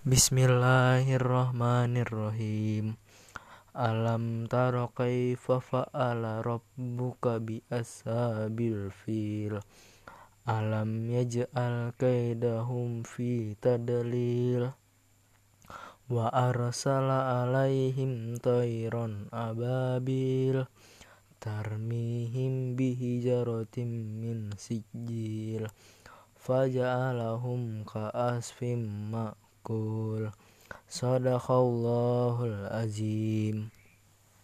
Bismillahirrahmanirrahim. Alam tara kaifa fa'ala rabbuka bi ashabil fil. Alam yaj'al kaidahum fi tadlil. Wa arsala alaihim tayran ababil. Tarmihim bihijaratim min sijil. Faja'alahum ka'asfim ma'kul. Sadaqallahul azim.